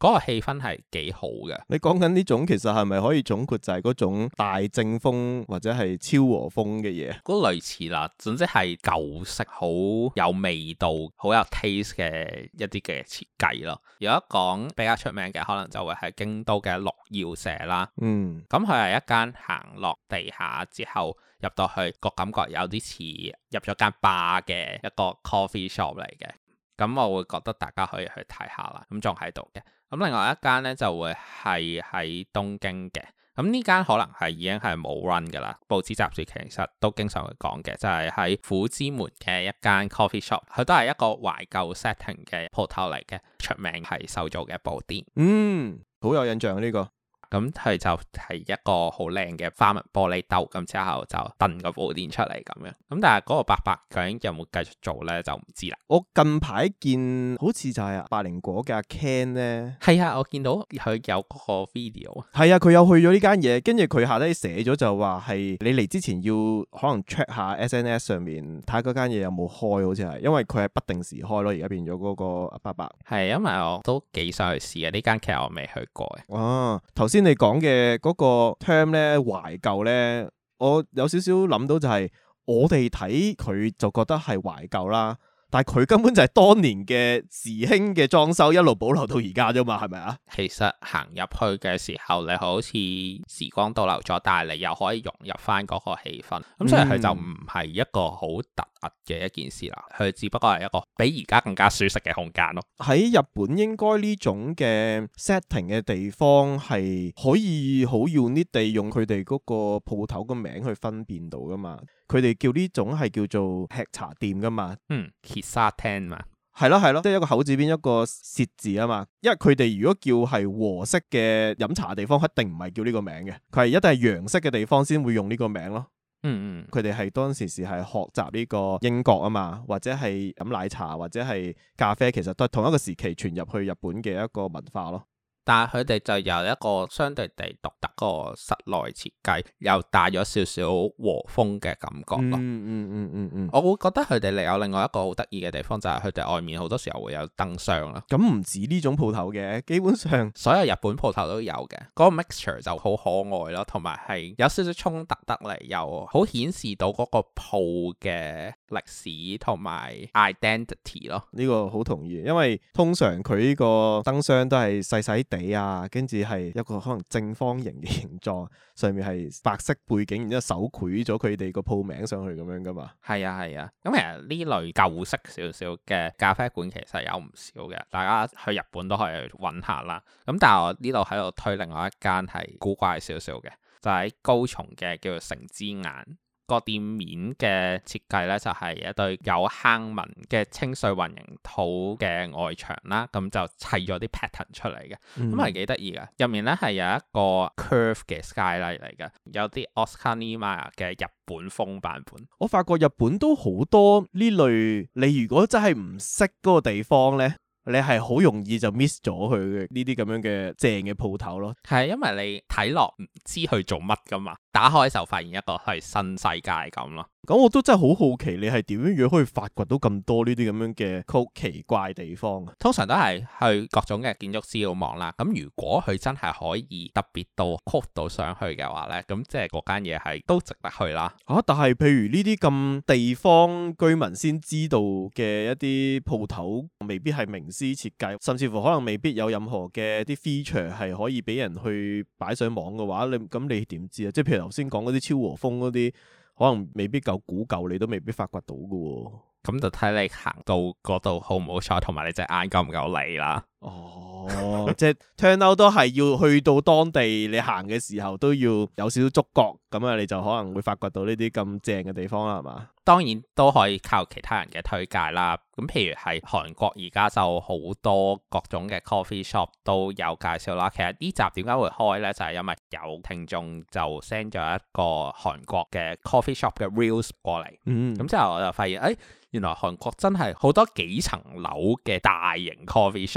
嗰個氣氛係幾好嘅。 你講緊呢種其實係咪可以總括就係嗰種大正風或者係昭和風嘅嘢？ 嗰類似啦，總之係舊式好有味道、好有 taste 嘅一啲嘅設計咯。如果講比較出名嘅，可能就會係京都嘅六曜舍啦。咁佢係一間行落地下之後入到去個感覺有啲似入咗間 bar 嘅一個 coffee shop 嚟嘅。咁我會覺得大家可以去睇下啦。咁仲喺度嘅。咁另外一間呢，就會係喺東京嘅。咁呢間可能係已經係冇 run 噶啦。報紙雜誌其實都經常會講嘅，就係喺虎之門嘅一間 coffee shop，佢都係一個懷舊 setting 嘅鋪頭嚟嘅，出名係手做嘅布甸。 好有印象呢個。 咁佢就係一個好靚嘅花紋玻璃兜，咁之後就燉個布甸出嚟咁樣。咁但係嗰個伯伯究竟有冇繼續做呢？就唔知啦。 我近排見好似就係百靈果嘅阿 Ken 呢。 係啊，我見到佢有嗰個 video。 係啊，佢有去咗呢間嘢，跟住佢下低寫咗就話係你嚟之前要可能 check 下 SNS 上面睇下嗰間嘢有冇開，好似係，因為佢係不定時開咯。而家變咗嗰個阿伯伯。係， 因為我都幾想去試嘅，呢間其實我未去過嘅。 哦，頭先你講嘅嗰個 term 咧，懷舊咧，我有少少諗到就係我哋睇佢就覺得係懷舊啦，但係佢根本就係當年嘅時興嘅裝修一路保留到而家啫嘛，係咪啊？其實行入去嘅時候，你好似時光倒流咗，但係你又可以融入翻嗰個氣氛，咁所以佢就唔係一個好突兀嘅一件事啦，佢只不過係一個比而家更加舒適嘅空間咯。喺日本應該呢種嘅 setting 嘅地方係可以好 unique 地用佢哋嗰個鋪頭個名去分辨到噶嘛，佢哋叫呢種係叫做吃茶店噶嘛，Kissaten 嘛，係咯，即係一個口字邊一個舌字啊嘛，因為佢哋如果叫係和式嘅飲茶地方，一定唔係叫呢個名嘅，佢係一定係洋式嘅地方先會用呢個名咯。佢哋係當時係學習呢個英國啊嘛，或者係飲奶茶或者係咖啡，其實都係同一個時期傳入去日本嘅一個文化咯。但係佢哋就有一個相對地獨特個室內設計，又帶咗少少和風嘅感覺咯。我會覺得佢哋有另外一個好得意嘅地方，就係佢哋外面好多時候會有燈箱啦。咁唔止呢種鋪頭嘅，基本上所有日本鋪頭都有嘅。嗰個 mixture 就好可愛咯，同埋係有少少衝突得嚟，又好顯示到嗰個鋪嘅歷史同埋 identity 咯。呢個好同意，因為通常佢呢個燈箱都係細細地啊，跟住係一個可能正方形嘅形狀，上面係白色背景，然之後手繪咗佢哋個鋪名上去咁樣噶嘛。係啊，咁其實呢類舊式少少嘅咖啡館其實有唔少嘅，大家去日本都可以去揾下啦。咁但係我呢度喺度推另外一間係古怪少少嘅，就喺高松嘅叫做城之眼。個店面嘅設計咧就係一對有坑紋嘅清水混凝土嘅外牆啦，咁就砌咗啲 pattern 出嚟嘅，咁係幾得意嘅。入面咧係有一個 curve 嘅 skylight 嚟嘅，有啲 Oscar Niemeyer 嘅日本風版本。我發覺日本都好多呢類，你如果真係唔識嗰個地方咧，你係好容易就 miss 咗佢嘅呢啲咁樣嘅正嘅鋪頭咯。係因為你睇落唔知佢做乜噶嘛，打開就發現一個係新世界咁咯。咁我都真係好好奇，你係點樣可以發掘到咁多呢啲咁樣嘅好奇怪地方？通常都係去各種嘅建築資料網啦。咁如果佢真係可以特別到 code 到上去嘅話呢，咁即係嗰間嘢係都值得去啦。但係譬如呢啲咁地方居民先知道嘅一啲鋪頭，未必係名師設計，甚至乎可能未必有任何嘅啲 feature 係可以俾人去擺上網嘅話，你點知啊？即係譬如頭先講嗰啲昭和風嗰啲，可能未必夠古舊，你都未必發掘到㗎喎。咁就睇你行到嗰度好唔好彩，同埋你隻眼夠唔夠利啦。即係 turn out 都係要去到當地，你行嘅時候都要有少少觸覺，咁啊你就可能會發掘到呢啲咁正嘅地方啦，係嘛？當然都可以靠其他人嘅推介啦。咁譬如係韓國而家就好多各種嘅 coffee shop 都有介紹啦。其實呢集點解會開呢？就係因為有聽眾就 send 咗一個韓國嘅 coffee shop 嘅 reels 過嚟。咁之後我就發現，原來韓國真係好多幾層樓嘅大型 coffee shop。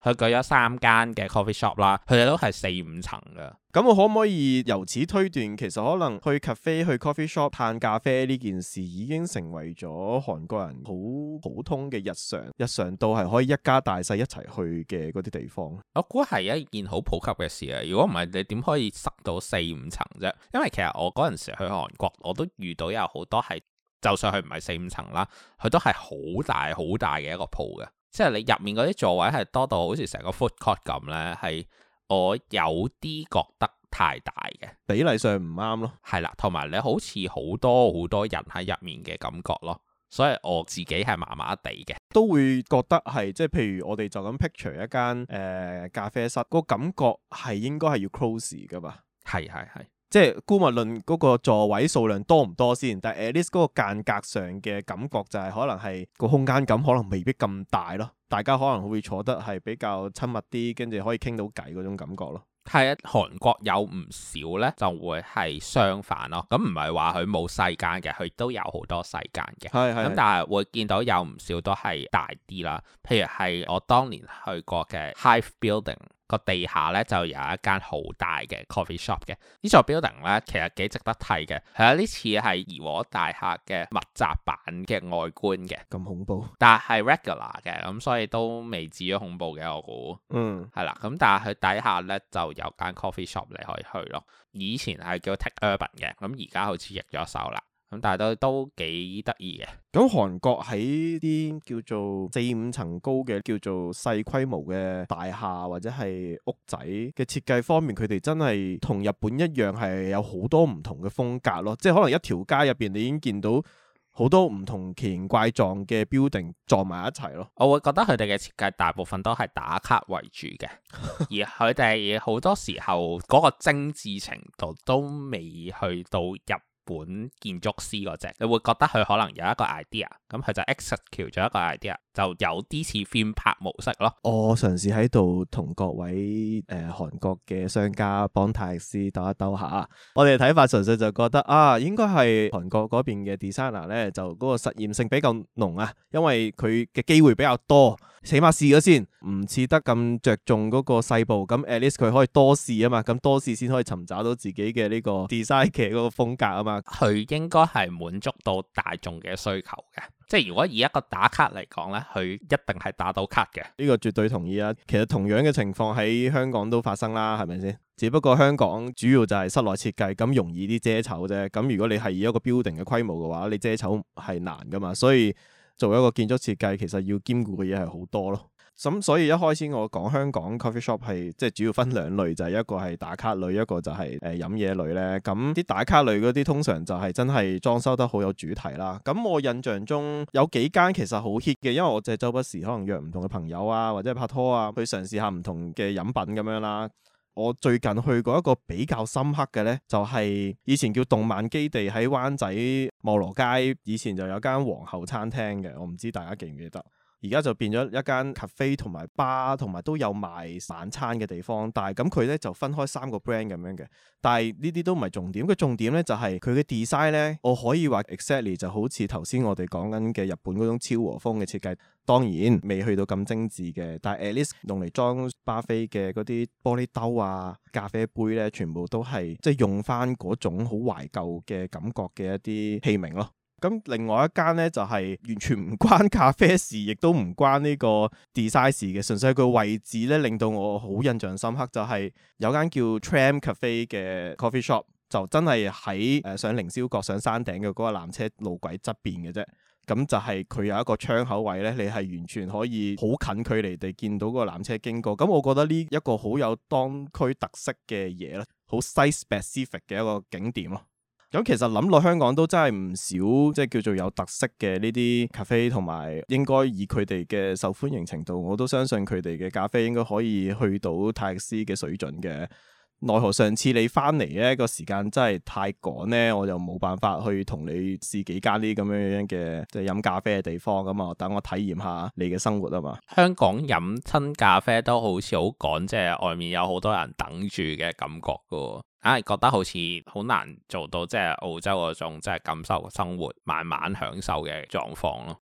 佢舉咗3間嘅 coffee shop 啦，佢哋都係4-5層㗎。 咁我可唔可以由此推斷，其實可能去 cafe 去 coffee shop 嘆咖啡呢件事已經成為咗韓國人好普通嘅日常到係可以一家大細一齊去嘅嗰啲地方。 我估係一件好普及嘅事啊！如果唔係，你點可以塞到4-5層啫？因為其實我嗰陣時去韓國，我都遇到有好多係，就算佢唔係4-5層啦，佢都係好大好大嘅一個鋪嘅。即係你入面嗰啲座位係多到好似成個 food court 咁呢，係我有啲覺得太大嘅， 比例上唔啱咯。 係啦，同埋你好似好多人喺入面嘅感覺咯，所以我自己係麻麻地嘅， 都會覺得係即係譬如我哋就咁 picture 一間咖啡室，個感覺係應該係要 close 噶嘛。係。即係姑勿論嗰個座位數量多唔多先，但係 at least 嗰個間隔上嘅感覺就係可能係個空間感可能未必咁大咯，大家可能會坐得係比較親密啲，跟住可以傾到偈嗰種感覺咯。係啊，韓國有唔少呢就會係相反咯，咁唔係話佢冇細間嘅，佢都有好多細間嘅，咁但係會見到有唔少都係大啲啦，譬如係我當年去過嘅 Hive Building。個地下咧就有一間好大嘅 coffee shop 嘅，呢座 building 咧其實幾值得睇嘅，係有啲似係怡和大廈嘅密集版嘅外觀嘅，咁恐怖，但係 regular 嘅，咁所以都未至於恐怖嘅我估，係啦，咁但係佢底下咧就有間 coffee shop 你可以去咯，以前係叫 Take Urban 嘅，咁而家好似易咗手啦。咁但係都幾得意嘅。咁韓國喺啲叫做4-5層高嘅叫做細規模嘅大廈或者係屋仔嘅設計方面，佢哋真係同日本一樣係有好多唔同嘅風格咯。即係可能一條街入邊你已經見到好多唔同奇形怪狀嘅 building 撞埋一齊咯。我會覺得佢哋嘅設計大部分都係打卡為主嘅，而佢哋好多時候嗰個精緻程度都未去到入本建築師嗰隻，你會覺得佢可能有一個 idea， 咁佢就 execute 咗一個 idea， 就有啲似 film 拍模式咯。我嘗試喺度同各位韓國嘅商家幫泰斯鬥一鬥下，我哋嘅睇法純粹就覺得應該係韓國嗰邊嘅 designer 咧，就嗰個實驗性比較濃啊，因為佢嘅機會比較多，起碼試咗先，唔似得咁着重嗰個細部，咁 at least 佢可以多試啊嘛，咁多試先可以尋找到自己嘅呢個 design 嘅嗰個風格啊嘛。佢應該係滿足到大眾嘅需求嘅，即係如果以一個打卡嚟講呢，佢一定係打到卡嘅。呢個絕對同意啊！其實同樣嘅情況喺香港都發生啦，係咪先？只不過香港主要就係室內設計，咁容易啲遮醜啫。咁如果你係以一個 building 嘅規模嘅話，你遮醜係難噶嘛。所以做一個建築設計，其實要兼顧嘅嘢係好多咯。咁所以一開始我講香港 coffee shop 係即係主要分兩類，就係一個係打卡類，一個就係飲嘢類咧。咁啲打卡類嗰啲通常就係真係裝修得好有主題啦。咁我印象中有幾間其實好 hit 嘅，因為我就係周不時可能約唔同嘅朋友啊，或者拍拖啊，去嘗試下唔同嘅飲品咁樣啦。我最近去過一個比較深刻嘅呢，就係以前叫動漫基地喺灣仔茂羅街，以前就有間皇后餐廳嘅，我唔知大家記唔記得。而家就變咗一間 cafe 同埋 bar 同埋都有賣晚餐嘅地方，但係咁佢咧就分開3個 brand 咁樣嘅，但係呢啲都唔係重點，個重點咧就係佢嘅 design 咧，我可以話 exactly 就好似頭先我哋講緊嘅日本嗰種超和風嘅設計，當然未去到咁精緻嘅，但係 at least 用嚟裝巴菲嘅嗰啲玻璃兜啊、咖啡杯咧，全部都係即係用翻嗰種好懷舊嘅感覺嘅一啲器皿咯。咁另外一間咧就係完全唔關咖啡事，亦都唔關呢個 design 事嘅，純粹係個位置咧令到我好印象深刻，就係有間叫 Tram Cafe 嘅 coffee shop， 就真係喺上凌霄閣上山頂嘅嗰個纜車路軌側邊嘅啫。咁就係佢有一個窗口位咧，你係完全可以好近距離地見到嗰個纜車經過。咁我覺得呢一個好有當區特色嘅嘢咧，好 site specific 嘅一個景點咯。咁其實諗落香港都真係唔少，即係叫做有特色嘅呢啲咖啡，同埋應該以佢哋嘅受歡迎程度，我都相信佢哋嘅咖啡應該可以去到泰斯嘅水準嘅。奈何上次你翻嚟呢個時間真係太趕呢，我就冇辦法去同你試幾間呢咁樣嘅即係飲咖啡嘅地方咁啊，等我體驗下你嘅生活啊嘛。香港飲親咖啡都好似好趕，即係外面有好多人等住嘅感覺噶，硬係覺得好似好難做到即係澳洲嗰種即係感受生活慢慢享受嘅狀況咯。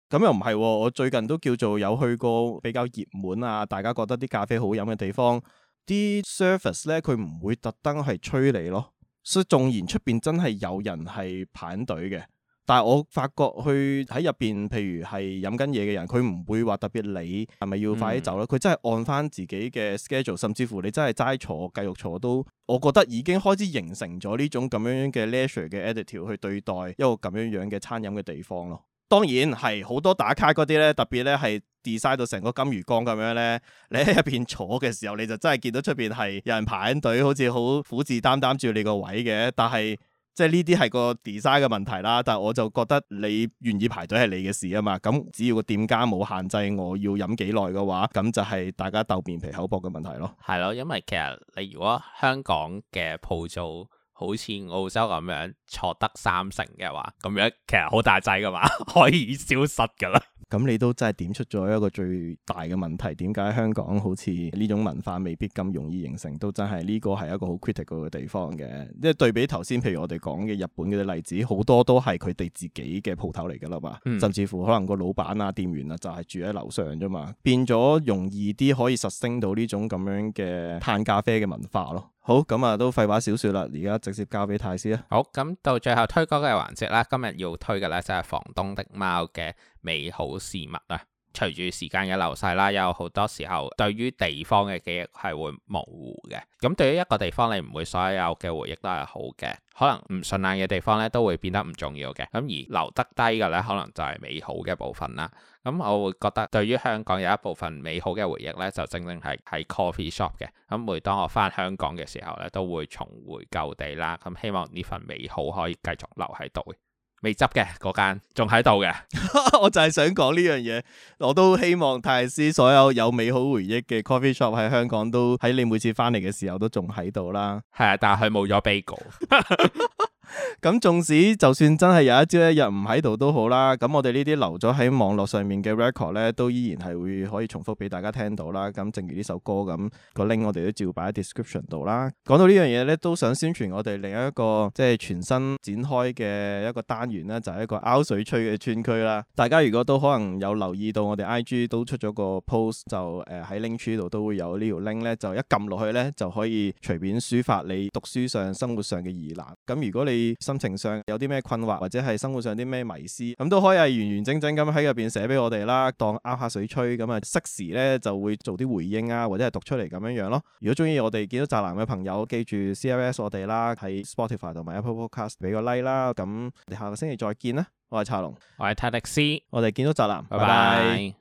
咁又唔係喎，我最近都叫做有去過比較熱門啊，大家覺得啲咖啡好飲嘅地方，啲 service 咧佢唔會特登係催你咯，所以縱然出邊真係有人係排隊嘅，但係我發覺去喺入邊，譬如係飲緊嘢嘅人，佢唔會話特別理係咪要快啲走咯，佢真係按翻自己嘅 schedule， 甚至乎你真係齋坐繼續坐都，我覺得已經開始形成咗呢種咁樣嘅 leisure 嘅 attitude 去對待一個咁樣嘅餐飲嘅地方咯。當然係好多打卡嗰啲咧，特別咧係 design 到成個金魚缸咁樣咧，你喺入邊坐嘅時候，你就真係見到出邊係有人排緊隊，好似好虎視眈眈住你個位嘅。但係即係呢啲係個 design 嘅問題啦。但係我就覺得你願意排隊係你嘅事啊嘛。咁只要個店家冇限制我要飲幾耐嘅話，咁就係大家鬥面皮口薄嘅問題咯。 係咯，因為其實你如果香港嘅鋪租好似澳洲咁樣坐得3成嘅話，咁樣其實好大劑噶嘛，可以消失噶啦。 咁你都真係點出咗一個最大嘅問題，點解香港好似呢種文化未必咁容易形成，都真係呢個係一個好 critical 嘅地方嘅。即係對比頭先，譬如我哋講嘅日本嘅例子，好多都係佢哋自己嘅鋪頭嚟噶啦嘛，甚至乎可能個老闆啊、店員啊就係住喺樓上啫嘛，變咗容易啲可以實升到呢種咁樣嘅嘆咖啡嘅文化咯。好，咁啊都廢話少說啦，而家直接交俾泰斯啊。 好，咁到最後推歌嘅環節啦，今日要推嘅咧就係房東的貓嘅美好事物啊。隨住時間嘅流逝啦，有好多時候對於地方嘅記憶係會模糊嘅。咁對於一個地方，你唔會所有嘅回憶都係好嘅，可能唔順眼嘅地方咧都會變得唔重要嘅。咁而留得低嘅咧，可能就係美好嘅部分啦。咁我會覺得對於香港有一部分美好嘅回憶咧，就正正係喺 coffee shop 嘅。咁每當我翻香港嘅時候咧，都會重回舊地啦。咁希望呢份美好可以繼續留喺度。未執嘅嗰間仲喺度嘅， 我就係想講呢樣嘢，我都希望泰斯所有美好回憶嘅 coffee shop 喺香港都喺你每次翻嚟嘅時候都仲喺度啦。 係啊，但係佢冇咗 bagel。 咁縱使就算真係有一朝一日唔喺度都好啦，咁我哋呢啲留咗喺網絡上面嘅 record 咧，都依然係會可以重複俾大家聽到啦。咁正如呢首歌咁，個 link 我哋都照擺喺 description 度啦。講到呢樣嘢咧，都想宣傳我哋另一個即係全新展開嘅一個單元啦，就係一個凹水區嘅村區啦。大家如果都可能有留意到我哋 IG 都出咗個 post，就喺 link tree 度都會有呢條 link 咧，就一撳落去咧就可以隨便抒發你讀書上、生活上嘅疑難。咁如果你心情上有啲咩困惑，或者係生活上啲咩迷思，咁都可以係完完整整咁喺入邊寫俾我哋啦，當拗下水吹咁啊，適時咧就會做啲回應啊，或者係讀出嚟咁樣樣咯。如果中意我哋建築宅男嘅朋友，記住 CLS 我哋啦，喺 Spotify 同埋 Apple Podcast 俾個 like 啦。咁我哋下個星期再見啦，我係茶龍， 我係泰迪斯， 我哋建築宅男， 拜拜。